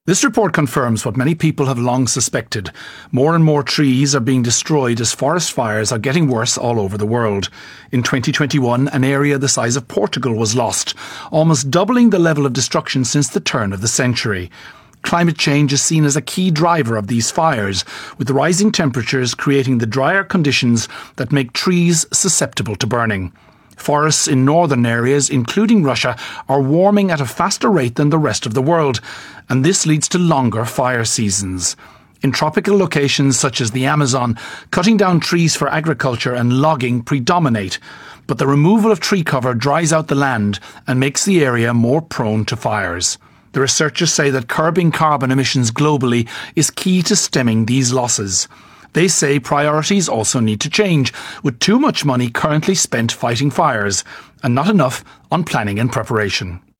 This report confirms what many people have long suspected. More and more trees are being destroyed as forest fires are getting worse all over the world. In 2021, an area the size of Portugal was lost, almost doubling the level of destruction since the turn of the century. Climate change is seen as a key driver of these fires, with rising temperatures creating the drier conditions that make trees susceptible to burning. Forests in northern areas, including Russia, are warming at a faster rate than the rest of the world, and this leads to longer fire seasons. In tropical locations such as the Amazon, cutting down trees for agriculture and logging predominate, but the removal of tree cover dries out the land and makes the area more prone to fires. The researchers say that curbing carbon emissions globally is key to stemming these losses. They say priorities also need to change, with too much money currently spent fighting fires and not enough on planning and preparation.